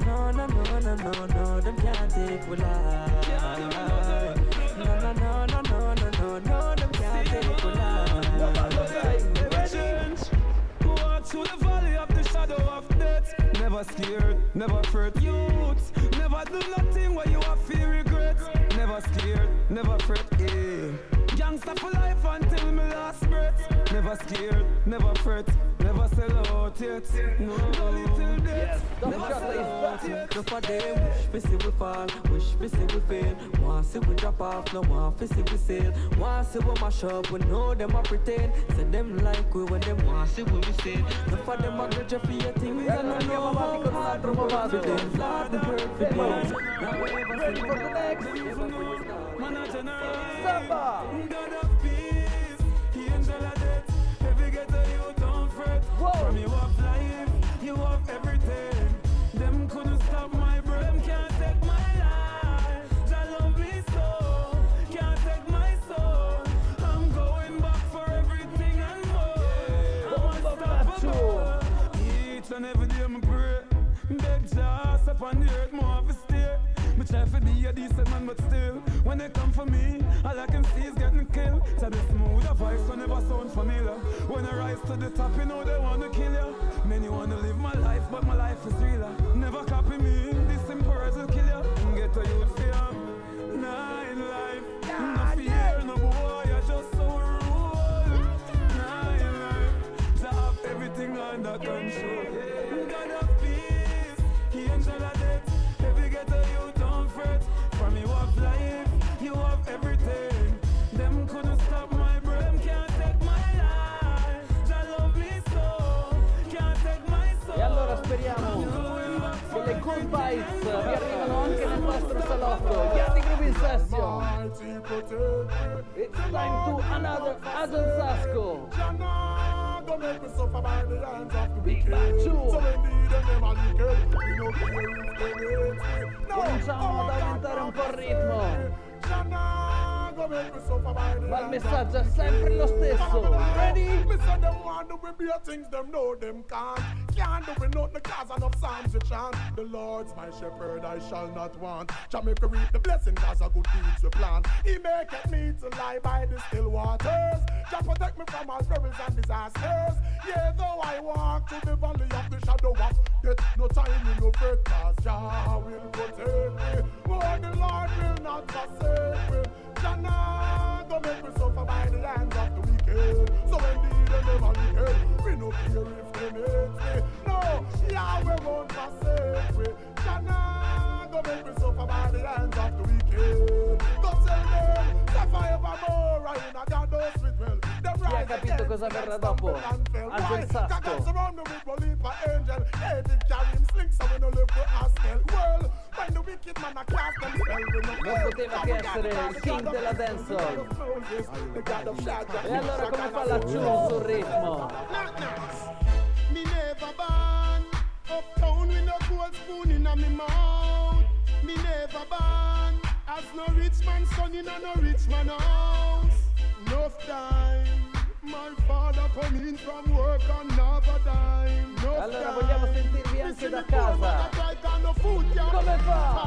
no, them can't take we life. No, no, them can't take we life. Never change. Walk through the valley of the shadow of death. Never scared, never fret. Youths, never do nothing where you have feel regret. Never scared, never fret. Yeah. Gangsta for life until my last breath. Never scared, never fret. Never sell out yet. No, little death. Never sell out yet. No for them, wish we see we fall, wish we see we fail. Want see we drop off, no want we see we sail. Want see we mash up, we know them a pretend. Say them like we when them want see we sail. No for them a grudge for your things and no know how hard we work for them. Lord, the hurt for them. Now we ever Ready for the next? Samba! God of peace, angel of death. Every ghetto you don't fret. From you have life, you have everything. Them couldn't stop my brain, can't take my life. Jah love me so, can't take my soul. I'm going back for everything and more. I'm unstoppable. Each and every day I pray, beg Jah up on the earth, more of a stay. Me try to be a decent man, but still, when they come for me, all I can see is getting killed. So the smooth voice so never sound familiar. When I rise to the top, you know they wanna kill you. Many wanna live my life, but my life is realer. Never copy me, this simple words will kill you. Get a youth fear, nah in life. No fear, no boy, you're just so rude. Nah in life, to have everything under control. God of peace, angel of death. Every ghetto you don't fret. From you have life, you have everything. Them couldn't stop my brain, can't take my life. Jah love me so, can't take my soul. E allora speriamo che le good vibes vi arrivano anche nel vostro salotto. Yardi Groove Session. It's time to another Adon Sasco. Don't make me suffer by the hands of the Big wicked. Bad Two. So indeed them are wicked. We don't care if they hate me. No, Cominciamo ad aumentare un po' il ritmo. Ma il messaggio è sempre lo stesso. Ready? Me say them want to be things them know them can't. Can't do it nothing cause enough psalms you chant. The Lord's my shepherd, I shall not want. Jamaica reap the blessing cause a good deeds we plant. He maketh me to lie by the still waters. Jah protect me from all perils and disasters. Yeah, though I walk through the valley of the shadow of death, no time in no fret cause Jah will protect me. Oh, the Lord will not forsake me. Jah nah go make me suffer by the hands of the wicked. So indeed they never wicked. We no care if they hate me. No, Yahweh won't forsake me. Jah nah go make me suffer by the hands of the wicked. Go tell them, suffer evermore. I in a God with well. Chi ha capito cosa verrà dopo? Angel Sasco. Surround me with Bolipa angel. David carry him sling so we no live for Askel. Well, when the wicked man a cast them spell, we no Non poteva che essere il king della dancehall. E allora come fa la Chu sul ritmo? Me never born uptown with no gold spoon in a me mouth. Me never born as no rich man son in a no rich man house. Enough time, my father come in from work and never dime. Allora vogliamo sentirvi anche da casa. Come fa?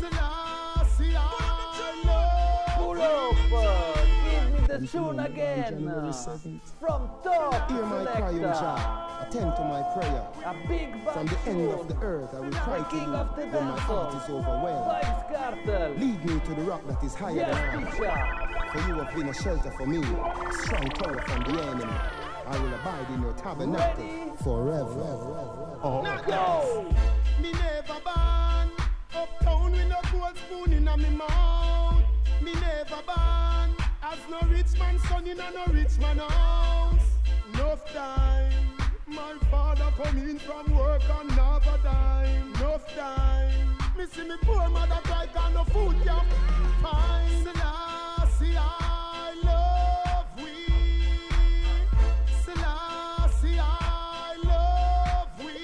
Pull up, give me the tune again. From top Hear my cry, O Jah. Attend to my prayer. A big From the end of the earth I will cry to you when my heart is overwhelmed. Vybz Kartel. Lead me to the rock that is higher than I. For you have been a shelter for me, a strong tower from the enemy. I will abide in your tabernacle forever. Oh, go! Me never born uptown with no gold spoon in a me mouth. Me never born as no rich man son in a no rich man house. Enough time, my father come in from work and never dime. Enough time, me see me poor mother cry 'cause no food can find. Selassie, I love we. Selassie, I love we.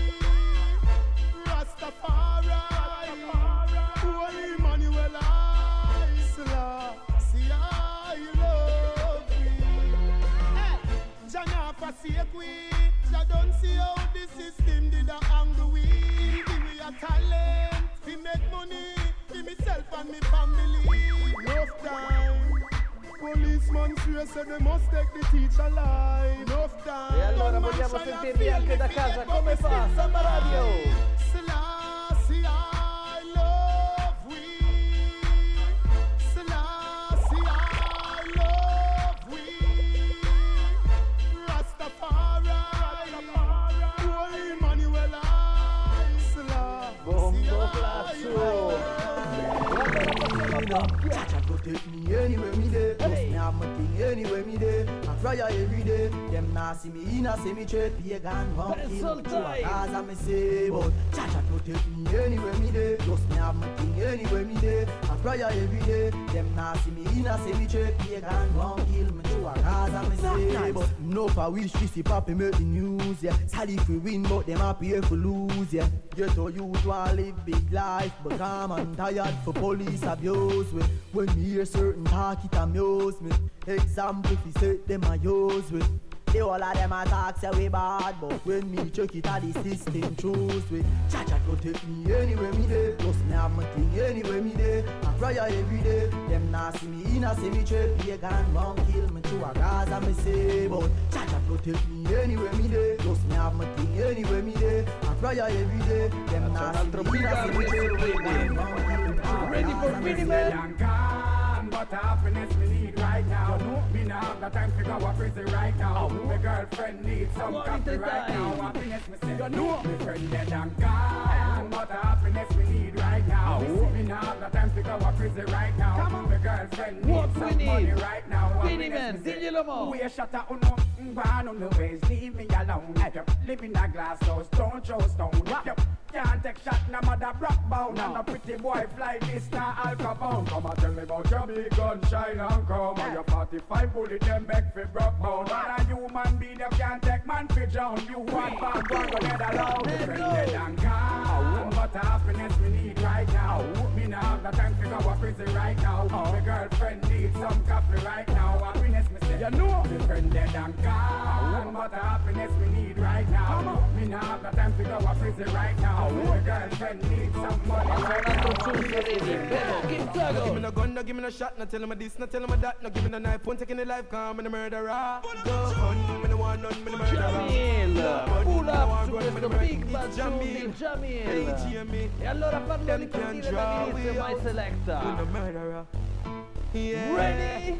Rastafari, Holy Emmanuel, I Selassie, I love we. Hey, Jah nah forsake we. Jah don't see how the system did a angle we. Give me a talent, we make money. Give myself and me family. Enough time, policeman swear say they must take the teacher alive. Enough time. E allora vogliamo sentirvi anche da casa come fa Samba Radio. Selassie, I love we. Selassie, I love we. Rastafari, Holy Emmanuel, I Selassie. Bombo Plazzo. Chacha go take me anywhere me dey. Post me have my thing anywhere me dey. I cry every day. Them nah see me in a cemetery. Pagan won't kill me through a Gaza me say. But Chacha go take me anywhere me dey. Post me have my thing anywhere me dey. I cry every day. Them nah see me in a cemetery. Pagan won't kill me through a Gaza me say. But no for wish to see Papi make the news, yeah. Sad if we win, but them happy if we lose, yeah. Get to youth want live big life, but calm and tired for police abuse. When me hear certain talk, it amuse me. Example, if you say them a use with. They all of them attack say we bad, but when me check it at the system choose with. Chacha go take me anywhere me dey. Plus me have my thing anywhere me dey. I cry every day. Them nah see me in a cemetery. Pagan won't kill me through a Gaza me say. But Chacha go take me anywhere me dey. Plus me have my thing anywhere me dey. I cry every day. Them nah see me in a cemetery. Pagan won't kill me through a Gaza me say. Ready for Miniman? But happiness we need right now. Me now have the time to go a prison right now. My girlfriend needs some coffee right now. Happiness me say, you know, my friend dead and gone. But happiness we need right now. Me now have the time to go a prison right now. My girlfriend needs some money right now. Miniman, diglielo mo. We a shatter uno, gone on the ways, leave me alone. Live in a glass house, don't throw stone. Can't take shot, no mother rock bound. And a pretty boy fly this, now Al Capone. Come and tell me about your big gun, shine and come. And your 45 bullet, them back for broke bound. But a human being, you can't take man for drown. You want bad one, go dead alone. Friend and gone. But happiness we need right now. Me now have the time to go a prison right now. My girlfriend needs some coffee right now. Happiness me say, you know. My friend dead and gone. But happiness we need right now. Me now have the time to go a prison right now. My girlfriend needs some money right now. Give me no gun, no give me no shot, no tell him this, no tell him that, no give me no knife, won't take any life, come, I'm a murderer. Go on, me no want none, me no murderer. Jamil, pull up su questo Big Bad Jamil. E allora parlo di partire dall'inizio, My Selecta. Ready?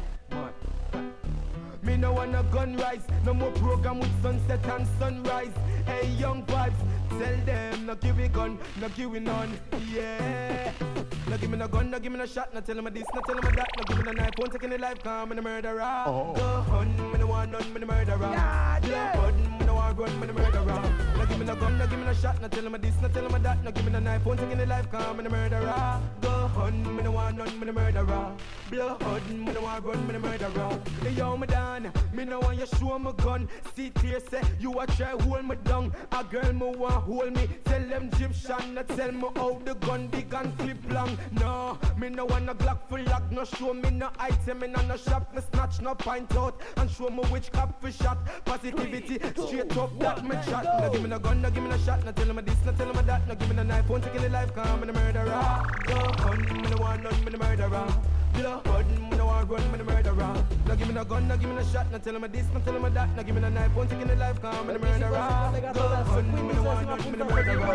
Me no want no gun rise, no more program with sunset and sunrise. Hey young vibes, tell them no give me gun, no give me none, yeah. No give me no gun, no give me no shot, no tell me this, no tell me that, no give me no knife, won't take any life, come, I'm a murderer. Go on, me no want none, me no murderer. Go on, me no want run, me no murderer. No give me no gun, no give me no shot, no tell me this, no tell me that, no give me no knife, won't take any life, come, I'm a murderer. Go on, me no want none, me no murderer. Blood, me no want run, me no murderer. Hey yo, me done, me no want you show me gun. See clear, say you a try hold me down. A girl me want hold me, tell them Egyptian, not tell me how the gun big and clip long. No, me no want a Glock full lock, no show me no item in no shop, me snatch no pint out and show me which cop for shot. Positivity, straight up that me chat. No give me no gun, no give me no shot, no tell me this, no tell me that, no give me no knife, won't take any life, come me no murderer. Go on, me no want none, me no murderer. Blood, me no want run, me no murderer. No give me no gun, no give me no shot, no tell me this, no tell me that, no give me no knife, won't take any life, come me no murderer. Go on, me no want none, me no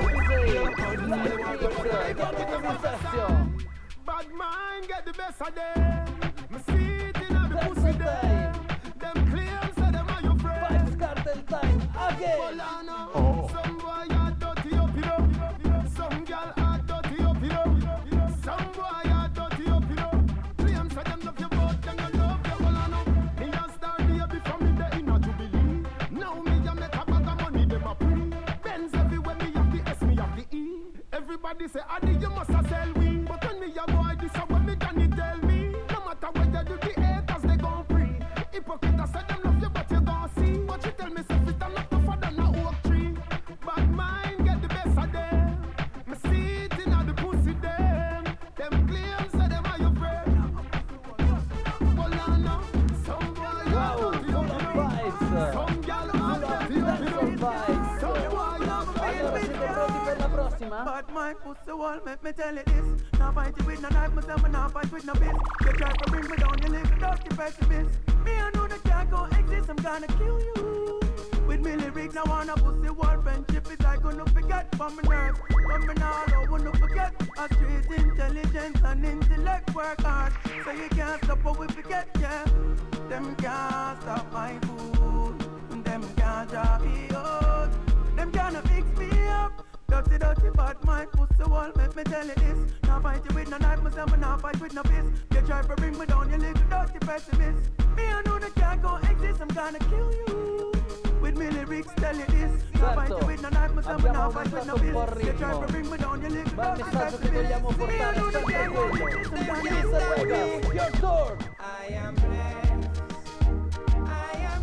murderer. Bad mind get the best of them. Me see it in the pussy them. Them claims say them are your friends. Vybz Kartel time again. Some boy are dirty up, you know. Some girl are dirty up, you know. Some boy are dirty up, you know. Claims say them love you, but them don't love you. Well, I know. Me a star baby from me the inner Jubilee. Now me a make a bag of money, them a pre. Benz everywhere, me have the S, me have the E. Everybody say, Adi, you must a sell we. But when me a boy, this a when me Johnny tell me. No matter what you do, the haters they gon' free. Hypocrite, I said them love you, but you gon' see. But you tell me, say, fit and not tougher than a oak tree. Bad mind get the best of them. Me see it in all the pussy them. Them claims say them are your friend. Well, I know. Some boy are dirty, some girl are dirty, some boy are dirty. prossima? But my pussy wall, make me tell you this. Now fight you with no knife, myself, and now fight with no fist. You try to bring me down, you live without the pessimist. Me, I know that can't go exist, I'm gonna kill you. With me lyrics, now on a pussy wall, friendship is I gonna forget from my nerves. From me now, I don't wanna forget. A street intelligence and intellect work hard. So you can't stop what we forget, yeah. Them can't stop my food. Them can't drop me out. Them can't fix me up. Dirty, dirty, bad mind, pussy wall, make me tell you this. Now fight you with no knife, myself, and now fight with no fist. You try to bring me down, you live dirty pessimist. Me, I know that can't go exist, I'm gonna kill you. With me lyrics, tell you this. Now fight you with no knife, myself, and now fight with no fist. You try to bring me down, you live dirty pessimist. Me, I know that can't go exist, I'm gonna kill you. Your turn! I am blessed. I am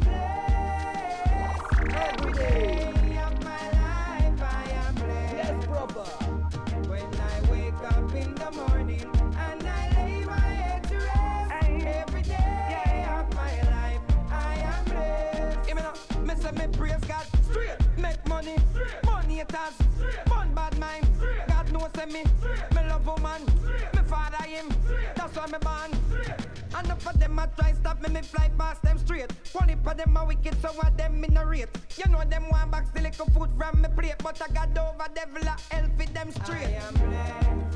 blessed. Every day of my life, I am blessed. Yes, proper. When I wake up in the morning and I lay my head to rest, every day of my life, I am blessed. Give me now, me say me praise God, straight, make money, money haters, fun bad mind. God knows me love woman, me father him, that's why me born. And enough of them a try stop me fly past them straight. One heap of them a wicked, so what them in a rate. You know them want back the little food from me plate, but I got over devil a hell for them straight. I am blessed.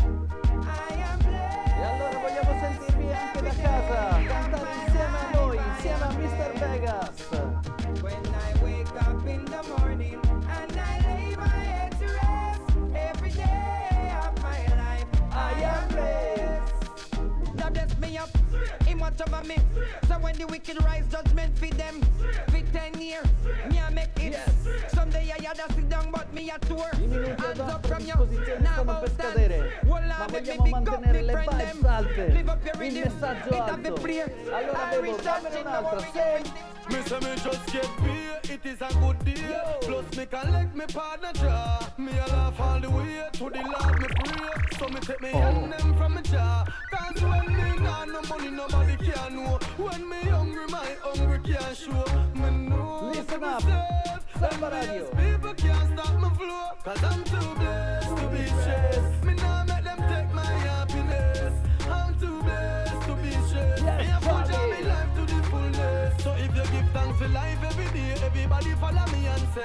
I am blessed. E allora vogliamo sentirvi anche da casa, cantare insieme a noi, insieme a Mr. Vegas. When I wake up in the morning and I lay my head to rest, every day of my life I am blessed. That bless me up, him watch over me. So when the wicked rise, judgment for them. For 10 years, me a make it. Someday I had a sit down, but me a tour. Hands up from you, now about stand. Ma vogliamo mantenere le vibes alte, il messaggio alto. Allora Bebo, dammene un'altra, senti. Me say me just get paid, it is a good deal. Plus me collect me partner jaw. Me a laugh all the way to the Lord me pray. So me take me hand them from me jaw. Cause when me nah no money nobody can know. When me hungry my hungry can't show. Me know Listen up, Samba Radio. People can't stop my flow. Cause I'm too blessed to be stressed. Me nah make them take my happiness. I'm too blessed to be stressed. Me a full job me life to the fullness. So if you give thanks for life every day, everybody follow me and say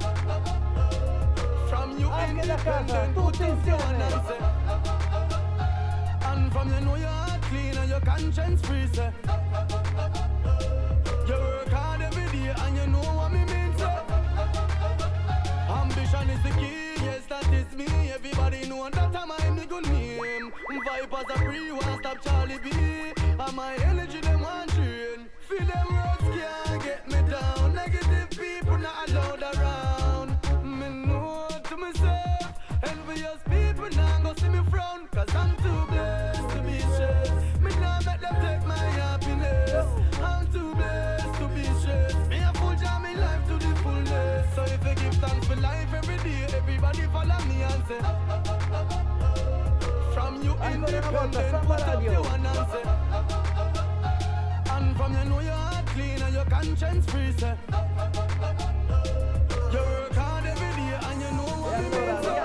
from you independent, put in one and say and from you know your heart clean and your conscience free, say you work hard every day and you know what me mean, say ambition is the key, yes that is me. Everybody know that I'm my good name. Vipers are free, one stop Charlie B. And my energy them one train. Feel them roads can't get me down. Negative people not allowed around. Me know to myself, envious people now go see me frown. Cause I'm too blessed to be stressed. Me now make them take my happiness. I'm too blessed to be stressed. Me a full jam in life to the fullness. So if you give thanks for life every day, everybody follow me and say from you independent, put up your one and say and from you know your heart clean and your conscience free, say you work hard every day and you know what you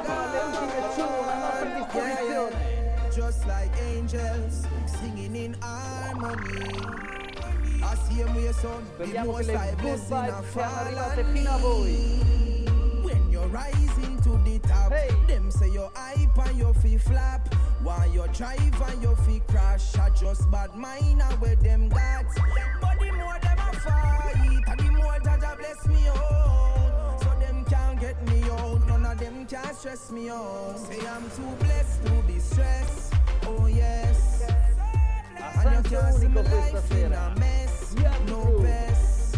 mean. Just like angels singing in harmony. I see him with your son. Speriamo che le good vibes siano arrivate fino a voi. When you're rising to the top, them say you're hype and your feet flap. While you drive and your feet crash, I just bad mind where them got. But the more them a fight, and the more Jaja bless me out. So them can't get me out, none of them can stress me out. Say I'm too blessed to be stressed, oh yes. And you can't see my life in a mess, no best.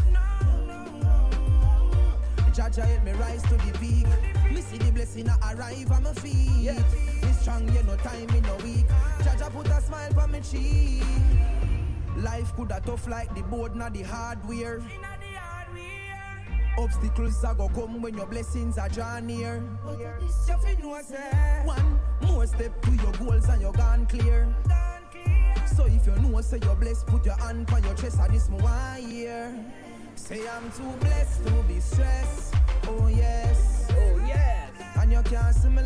Jaja help me rise to the peak. Me see the blessing arrive on my feet. Me strong, you know time in a week. Jaja put a smile on my cheek. Life coulda tough like the board, not the hardware. Obstacles are go come when your blessings are draw near. You fi know say one more step to your goals and you're gone clear. So if you know say you're blessed, put your hand on your chest and this my 1 year. Say I'm too blessed to be stressed, oh yes, oh yes. And you can't see me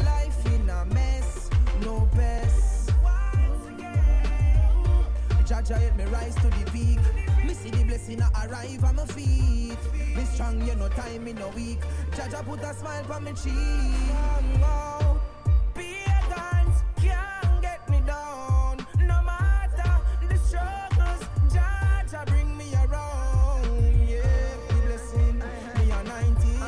blessing I arrive on my feet. Me strong, you know time me no weak. Jaja put a smile on me cheek. Oh, pagans can't get me down. No matter the struggles, Jaja bring me around. Yeah, the blessing, me a 19.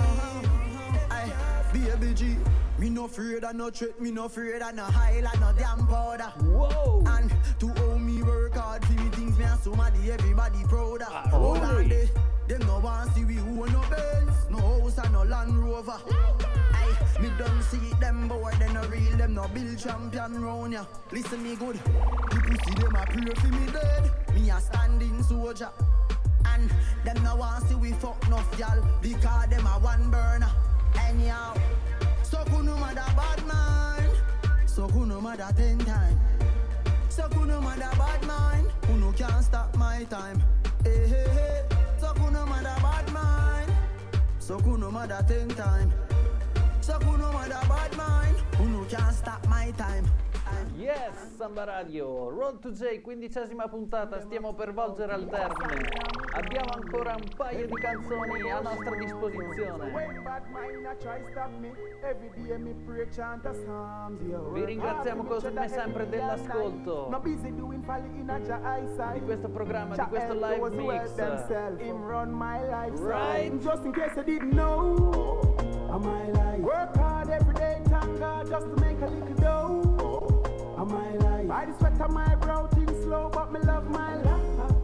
Baby G, me no afraid of no threat, me no afraid of no highlight, no damn powder. Whoa! And to how me work hard for me things, me and somebody, everybody prouder. Hold on there, them no want see we who no Benz, no house and no Land Rover. Aye, me don't see them boy, they no real, them no build champion round ya. Listen me good, the pussy them a pray for me dead, me a standing soldier. And them no want see we fuck enough y'all, because them a one burner. Anyhow, so kuno mother bad mind, so kuno mother 10 times. So kuno mother bad mind, kuno can't stop my time. Hey, hey, hey. So kuno mother bad mind, so kuno mother 10 times. So kuno mother bad mind, kuno can't stop my time. Yes, Samba Radio, Road to J, 15ª puntata, stiamo per volgere al termine. Abbiamo ancora un paio di canzoni a nostra disposizione. Vi ringraziamo come sempre dell'ascolto di questo programma, di questo live mix. Right? Just in case I didn't know, my life. Work hard every day, thank God, just to make a little dough. My life. By the sweat on my brow, things slow, but me love my life.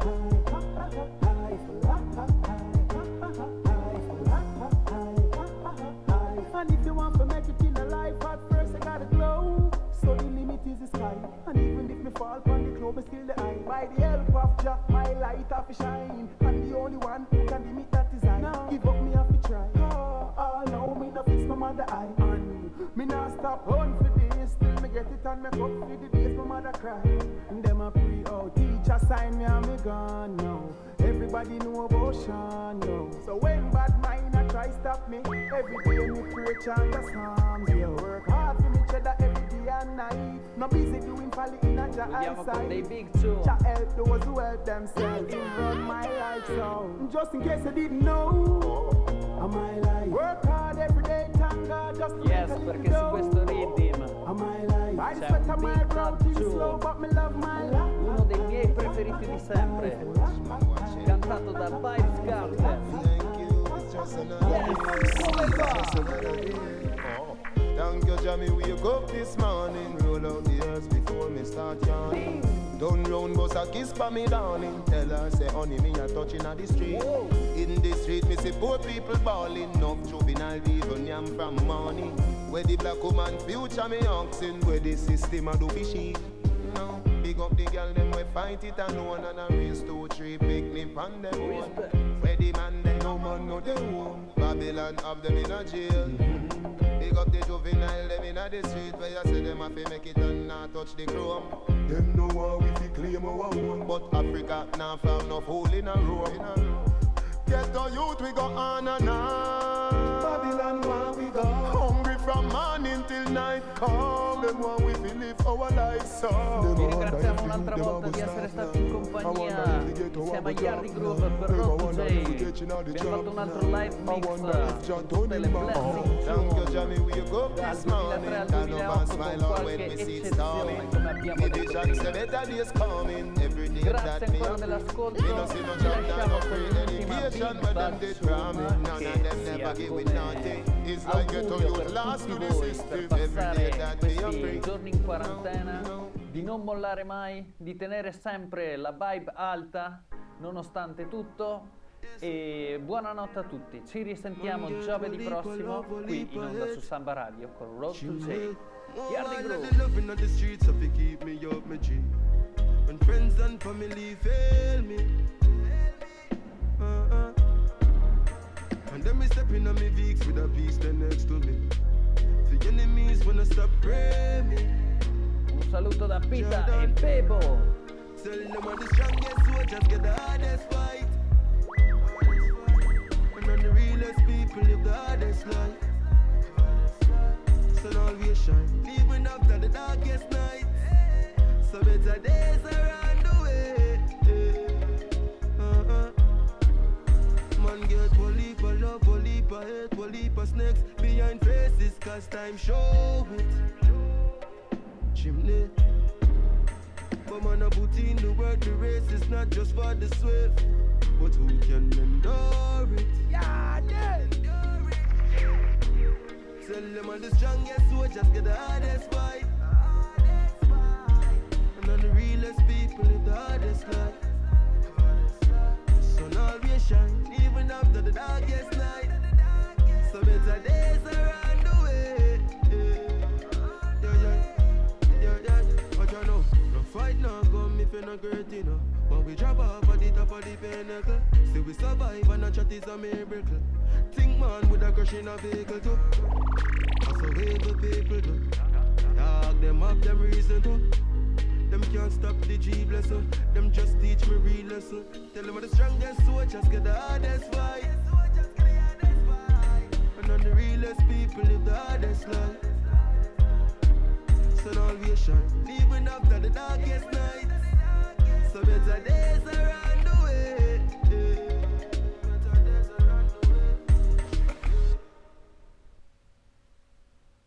And if you want to make it in a life, at first I gotta glow. So the limit is the sky. And even if me fall on the globe, still the eye. By the help of Jah, my light have to shine. And the only one who can limit that is I. Now give up, me have to try. Oh, no, me no fix no mother eye. And me not stop on for this. Till me get it and me up for the days my mother cry. And them a pray, oh, teacher sign me and me gone now. Everybody know about Sean now. So when bad mind a try stop me, every day me pray chant the psalms. Yeah, work hard for me cheddar every day and night. No busy doing folly in a Jah eyesight. Jah help those who help themselves. To run my life so. Just in case I didn't know, my life. Work hard every day, thank God, just to yes, perché su questo rhythm c'è un beat touch, uno dei miei preferiti di sempre, cantato da Vybz Kartel. Thank you, Jamie, wake up this morning. Roll out the earth before me start yawning. Don't round bus a kiss for me darling. Tell her say honey me a touching at the street. Whoa. In the street me see poor people bawling. Enough juvenile even yam from morning. Where the black woman future me oxen. Where the system a do be sheep. No, big up the girl them we fight it alone. And a race 2, 3 picnic on them one. Where the man them no man no they home. Babylon have them in a jail. Big up the juvenile, them inna the street where you say them have to make it and not touch the chrome. Them know how we fi claim our own, but Africa now found enough hole in a row. Get the youth, we go on and on. Babylon, where we go? Hungry from morning till night come. Them want we fi live our lives so. Vi ringraziamo un'altra volta di essere stati in compagnia insieme a Yardi Groove per Road to J. Abbiamo fatto un altro live mix con tutte le blessing dal 2003 al 2008 con qualche eccezione come abbiamo detto. Grazie ancora dell'ascolto, vi lasciamo con l'ultima beat touch che sia come augurio per tutti voi per passare questi giorni in quarantena, di non mollare mai, di tenere sempre la vibe alta nonostante tutto. E buonanotte a tutti, ci risentiamo giovedì prossimo qui in onda su Samba Radio con Road to J. Yardi Groove. When friends and family fail me, and then me stepping on me Vicks with a beast there next to me. The enemies wanna stop praying me. Un saluto da Pita e Bebo. Telling them are the strongest soldiers get the hardest fight. And on the realest people live the hardest life. Sun always shine, even after the darkest night. So better days around the way. heap of snakes behind faces, cause time show it. Chimney. But man, I put in the work, the race is not just for the swift, but who can endure it? Yeah, yeah. Tell them all the strongest soldiers get the hardest fight. And all the realest people live the hardest life. Sun always shine, even after the darkest night. So better days are on the way. Yeah. But you know, no fight now come if you're not great enough. When we drop off at the top of the pinnacle, see we survive and not chat is a miracle. Think man with a crush in a vehicle too. That's the way the people do. Dog them up, them reason too. Them can't stop the G blessing. Them just teach me real lesson. Tell them the strongest soldiers get the hardest fight. And on the realest people live the hardest life. Sun always shine, even after the darkest night. So better days